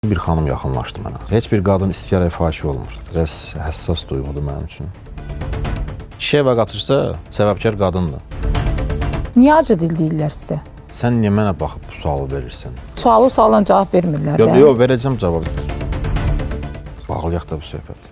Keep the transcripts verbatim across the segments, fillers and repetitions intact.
Bir xanım yaxınlaşdı mənə. Heç bir qadın istəyərək fahiş olmur. Biraz həssas duyğudur mənim üçün. Kişi evə qaçırsa, səbəbkar qadındır. Niyə acı dil deyirlər sizə? Sən niyə mənə baxıb bu sualı verirsən? Sualı sualdan cavab vermirlər. Yox, yox, verəcəm cavab. Bağlayaq da bu söhbət.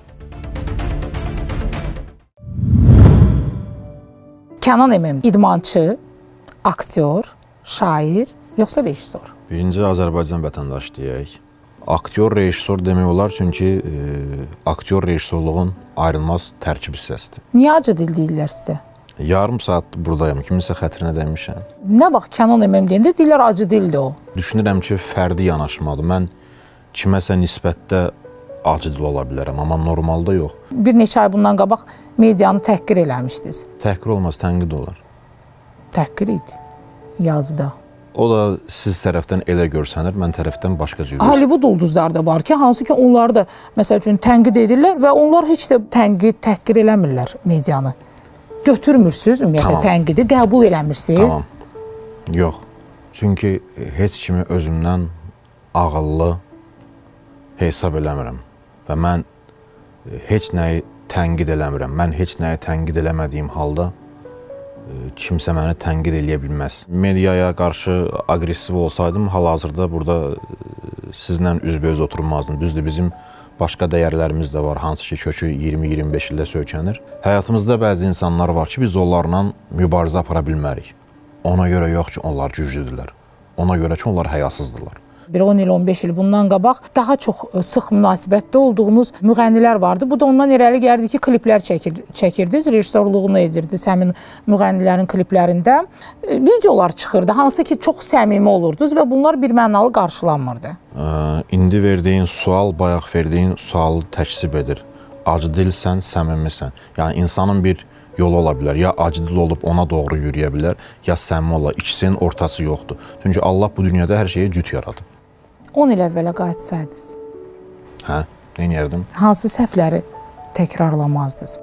Kənan Əmim idmançı, aktyor, şair, yoxsa rejissor? Birinci Azərbaycan vətəndaşı deyək. Aktyor, rejissor demək olar, çünki e, aktyor rejissorluğun ayrılmaz tərkib hissəsidir. Niyə acı dil deyirlər sizə? Yarım saat buradayım, kiminsə xətrinə dəymişəm. Nə vaxt Kənan Əmim deyəndə deyirlər acı dildir o. Düşünürəm ki, fərdi yanaşmadır. Mən kiməsə nisbətdə acı dil ola bilərəm, amma normalda yox. Bir neçə ay bundan qabaq medianı təhqir eləmişdiniz. Təhqir olmaz, tənqid olar. Təhqir idi yazıda. O da siz tərəfdən elə görsənir, mən tərəfdən başqa cür. Hollywood ulduzları da var ki, hansı ki onları da məsəl üçün tənqid edirlər və onlar heç də tənqid, təhqir eləmirlər medianı. Götürmürsünüz ümumiyyətlə tamam. Tənqidi, qəbul eləmirsiniz. Tamam. Yox. Çünki heç kimi özümdən ağıllı hesab eləmirəm və mən heç nəyi tənqid eləmirəm. Mən heç nəyi tənqid eləmədiyim halda kimsə məni tənqid eləyə bilməz. Mediaya qarşı aqressiv olsaydım, hal-hazırda burada sizlə üzbəüz oturmazdım. Düzdür, bizim başqa dəyərlərimiz də var, hansı ki, kökü iyirmi iyirmi beş ildə söykənir. Həyatımızda bəzi insanlar var ki, biz onlarla mübarizə apara bilmərik. Ona görə yox ki, onlar güclüdürlər. Ona görə ki, onlar həyasızdırlar. Bir on il, on beş il bundan qabaq daha çox sıx münasibətdə olduğunuz müğənnilər vardı. Bu da ondan irəli gəldi ki, kliplər çəkir, çəkirdiniz, rejissorluğunu edirdiniz həmin müğənnilərin kliplərində. Videolar çıxırdı, hansı ki, çox səmimi olurdunuz və bunlar bir mənalı qarşılanmırdı. Ee, indi verdiyin sual, bayaq verdiyin sualı təksib edir. Acı dilsən, səmimisən. Yəni, insanın bir yolu ola bilər. Ya acı dil olub ona doğru yürüyə bilər, ya səmimi ola. İkisinin ortası yoxdur. Çünki Allah bu dünyada hər şeyi cüt yaradıb. on il əvvələ qayıtsaydınız. Hə, neyniyərdim? Hansı səhvləri təkrarlamazdınız?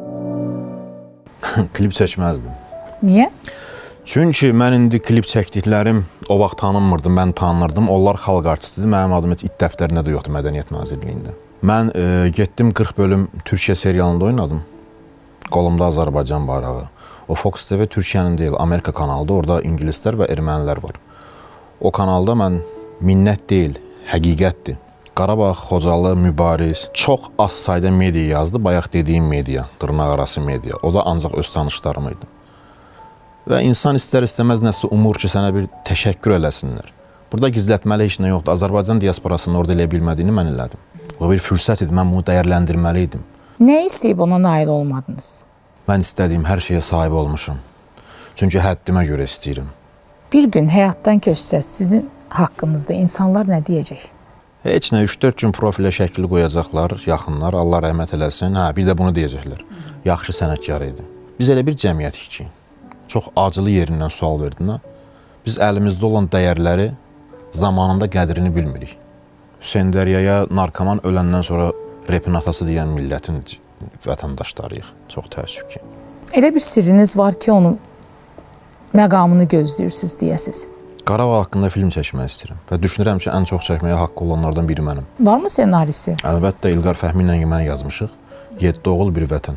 Klip çəkməzdim. Niyə? Çünki mən indi klip çəkdiklərim o vaxt tanınmırdım, mən tanınırdım. Onlar xalq artistidir. Mənim adım heç it dəftərində də yoxdur Mədəniyyət Nazirliyində. Mən e, getdim qırx bölüm Türkiyə serialında oynadım. Qolumda Azərbaycan bayrağı. O Fox T V Türkiyənin deyil, Amerika kanalıdır. Orada ingilislər və ermənilər var. O kanalda mən minnət deyil, həqiqətdir. Qarabağ, Xocalı, Mübariz, çox az sayda media yazdı. Bayaq dediyim media, dırnaq arası media. O da ancaq öz tanışlarım idi. Və insan istər-istəməz nəsə umur ki, sənə bir təşəkkür eləsinlər. Burada gizlətməli heç nə yoxdur. Azərbaycan diasporasının orada elə bilmədiyini mən elədim. O bir fürsət idi, mən bunu dəyərləndirməli idim. Nə istəyib ona nail olmadınız? Mən istədiyim hər şeyə sahib olmuşum. Çünki həddimə görə istəyirəm. Bir gün həyatdan köçsəz, sizin haqqınızda insanlar nə deyəcək? Heç nə, üç dörd gün profilə şəkli qoyacaqlar, yaxınlar, Allah rəhmət eləsin. Hə, bir də bunu deyəcəklər. Yaxşı sənətkar idi. Biz elə bir cəmiyyətik ki, çox acılı yerindən sual verdin. Biz əlimizdə olan dəyərləri zamanında qədrini bilmirik. Hüseyn Dəryaya narkoman öləndən sonra repin atası deyən millətin vətəndaşlarıyıq. Çox təəssüf ki. Elə bir sirriniz var ki, onun məqamını gözləyirsiniz deyəsiz. Qarabağ haqqında film çəkmək istəyirəm və düşünürəm ki, ən çox çəkməyə haqqı olanlardan biri mənim. Varmı ssenarisi? Əlbəttə, İlqar Fəhmi ilə mən yazmışıq. Yeddi oğul, bir vətən.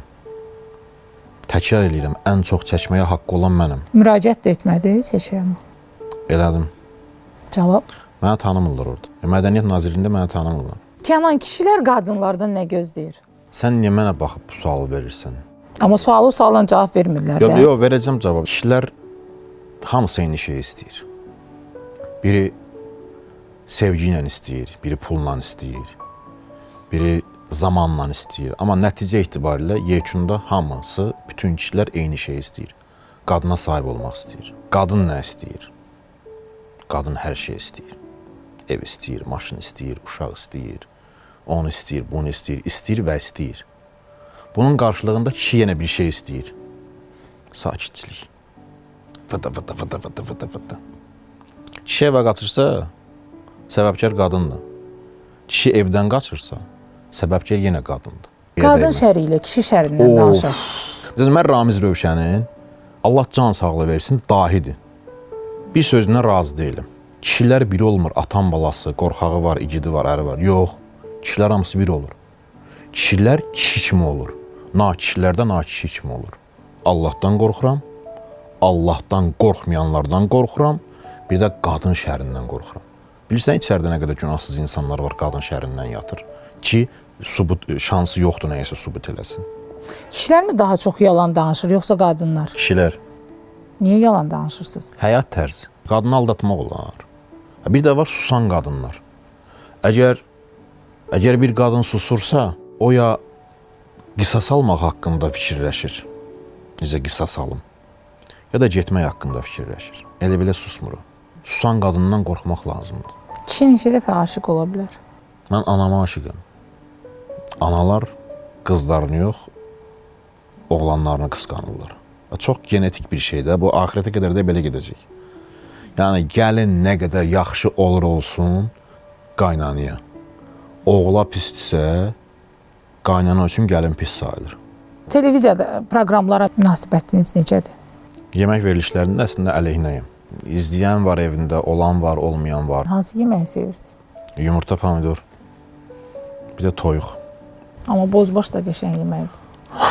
Təkrar eləyirəm, ən çox çəkməyə haqqı olan mənəm. Müraciət də etmədiniz heç yana? Elədim. Cavab? Mənə tanımırlar orada. Mədəniyyət Nazirliyində mənə tanımırlar. Kənan, kişilər qadınlardan nə gözləyir? Sən niyə mənə baxıb bu sualı verirsən? Amma sualı sualdan cavab vermirlər. Yox, yox, verəcəm cavab. Kişilər hamısı eyni şey istəyir. Biri sevgi ilə istəyir, biri pulla istəyir, biri zamanla istəyir. Amma nəticə etibarilə yekunda hamısı, bütün kişilər eyni şey istəyir. Qadına sahib olmaq istəyir. Qadın nə istəyir? Qadın hər şey istəyir. Ev istəyir, maşın istəyir, uşaq istəyir, onu istəyir, bunu istəyir, istəyir və istəyir. Bunun qarşılığında kişi yenə bir şey istəyir. Sakitçilik. Fıda fıda fıda fıda fıda fıda. Kişi evə qaçırsa, səbəbkar qadındır. Kişi evdən qaçırsa, səbəbkar yenə qadındır. Qadın şəri ilə kişi şərindən danışaq. Mən Ramiz Rövşənin, Allah can sağlığı versin, dahidir. Bir sözündən razı deyiləm. Kişilər biri olmur. Atan balası, qorxağı var, igidi var, əri var. Yox. Kişilər hamısı biri olur. Kişilər kişi kimi olur. Na-kişilər də na-kişi kimi olur. Allahdan qorxuram. Allahdan qorxmayanlardan qorxuram. Bir də qadın şərindən qorxuram. Bilirsən, içəridə nə qədər günahsız insanlar var, qadın şərindən yatır. Ki, subut, şansı yoxdur nəyəsə subut eləsin. Kişilər mi daha çox yalan danışır, yoxsa qadınlar? Kişilər. Niyə yalan danışırsınız? Həyat tərzi. Qadını aldatmaq olar. Bir də var susan qadınlar. Əgər, əgər bir qadın susursa, o ya qisas almaq haqqında fikirləşir. Necə qisas alım. Ya da getmək haqqında fikirləşir. Elə belə susmur. Susan qadından qorxmaq lazımdır. Kişi neçə dəfə aşiq ola bilər? Mən anama aşiqəm. Analar qızlarını yox, oğlanlarını qısqanırlar. Çox genetik bir şeydir. Bu axirətə qədər də belə gedəcək. Yəni, gəlin nə qədər yaxşı olur olsun qaynanıya. Oğula pisdirsə, qaynana üçün gəlin pis sayılır. Televiziyada proqramlara münasibətiniz necədir? Yemək verilişlərində əslində əleyhinəyim. İzləyən var evində, olan var, olmayan var. Hansı yeməyi sevirsiniz? Yumurta, pomidor, bir də toyuq. Amma bozbaş da qəşəng yeməkdir.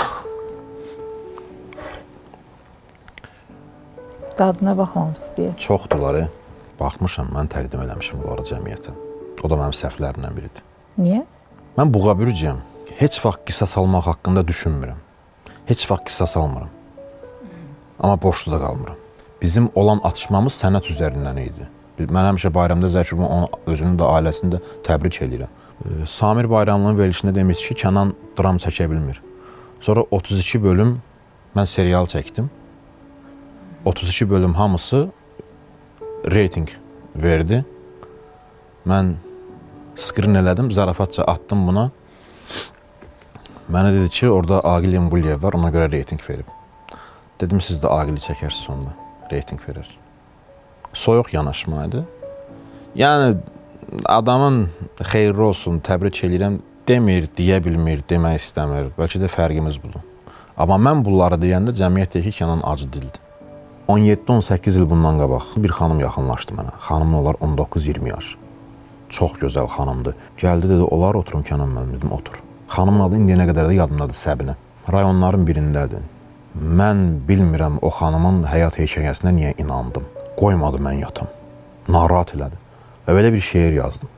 Dadına baxmamısınız deyəsən. Çoxdurlar, baxmışam, mən təqdim eləmişim bunları cəmiyyətə. O da mənim səhvlərimdən biridir. Niyə? Mən buğa-bürücəyəm. Heç vaxt qisas almaq haqqında düşünmürəm. Heç vaxt qisas almıram. Amma borçlu da qalmıram. Bizim olan atışmamız sənət üzərindən idi. Mən həmişə bayramda Zəkir onun özünün də ailəsini də təbrik edirəm. Samir Bayramlının verilişində demiş ki, Kənan dram çəkə bilmir. Sonra otuz iki bölüm mən serial çəkdim. otuz iki bölüm hamısı reyting verdi. Mən skrin elədim, zarafatca attım buna. Mənə dedi ki, orada Aqil Yembulyev var, ona görə reyting verib. Dedim, siz də Aqili çəkərsiniz onda, reyting verir. Soyuq yanaşmaydı. Yəni, adamın xeyirli olsun, təbrik edirəm, demir, deyə bilmir, demək istəmir. Bəlkə də fərqimiz budur. Amma mən bunları deyəndə cəmiyyət deyir ki, Kənan acı dildir. on yeddi on səkkiz il bundan qabaq bir xanım yaxınlaşdı mənə. Xanımın olar on doqquz iyirmi yaş. Çox gözəl xanımdır. Gəldi, dedi, olar oturum Kənan müəllim, dedim, otur. Xanımın adı indiyə qədər də yadımdadır, Səbinə. Rayonların birindədir. Mən bilmirəm o xanımın həyat hekayəsinə niyə inandım. Qoymadı mən yatam. Narahat elədi. Və belə bir şeir yazdım.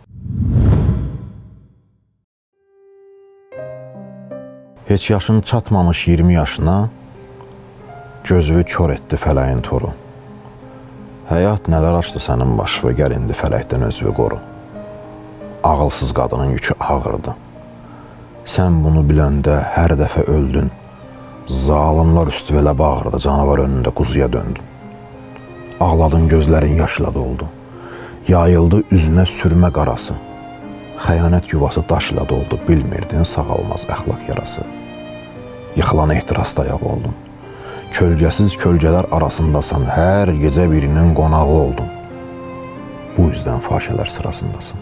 Heç yaşın çatmamış iyirmi yaşına gözünü kör etdi fələyin toru. Həyat nələr açdı sənin başı və gəl indi fələkdən özünü qoru. Ağılsız qadının yükü ağırdı. Sən bunu biləndə hər dəfə öldün. Zalimlar üstü belə bağırdı, canavar önündə quzuya döndün. Ağladın, gözlərin yaşla doldu. Yayıldı üzünə sürmə qarası. Xəyanət yuvası daşla doldu, bilmirdin sağalmaz əxlaq yarası. Yıxılan ehtirasda ayaq oldun. Kölgəsiz kölgələr arasındasan, hər gecə birinin qonağı oldun. Bu üzdən fahişələr sırasındasın.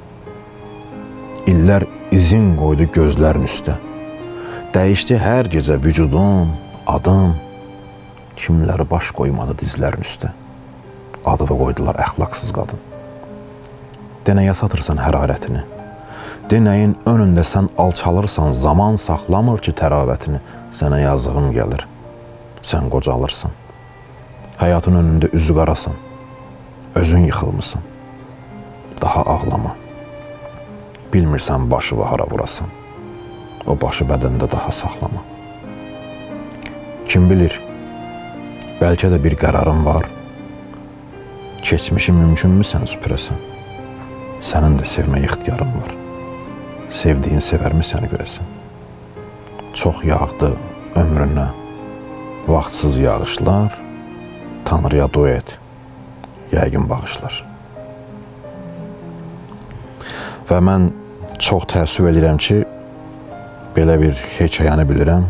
İllər izin qoydu gözlərin üstə. Dəyişdi hər gecə vücudun, adın. Kimləri baş qoymadı dizlərin üstə. Adını qoydular əxlaqsız qadın. Denəyə satırsan hərarətini. Denəyin önündə sən alçalırsan, zaman saxlamır ki təravətini. Sənə yazığım gəlir. Sən qocalırsan. Həyatın önündə üzü qarasan. Özün yıxılmısan. Daha ağlama. Bilmirsən başı və hara vurasan. O başı bədəndə daha saxlama. Kim bilir, bəlkə də bir qərarın var. Keçmişi mümkünmü sən süpürəsən? Sənin də sevmək ixtiyarın var. Sevdiyin sevərmi səni görəsən? Çox yağdı ömrünə vaxtsız yağışlar, Tanrıya dua et, yəqin bağışlar. Və mən çox təəssüf edirəm ki, belə bir hekayəni bilirəm.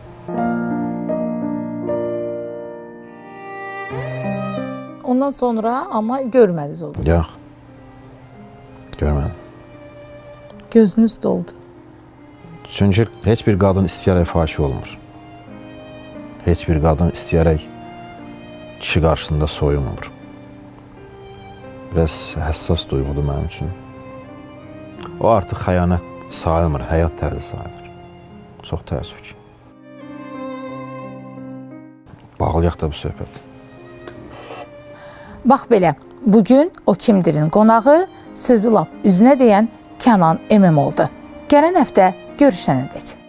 Ondan sonra amma görmədiniz o qızı. Yox, görmədim. Gözünüz doldu. Çünki heç bir qadın istəyərək faşi olmur. Heç bir qadın istəyərək kişi qarşısında soyunmur. biraz həssas duyğudur mənim üçün. O artıq xəyanət sayılmır, həyat tərzi sayılır. Çox təəssüf ki. Bağlayaq da bu söhbət. Bax belə, bugün O Kimdir'in qonağı sözü lap üzünə deyən Kənan Emim oldu. Gələn həftə görüşənədək.